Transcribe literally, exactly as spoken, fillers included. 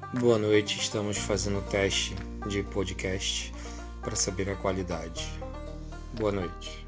Boa noite, estamos fazendo o teste de podcast para saber a qualidade. Boa noite.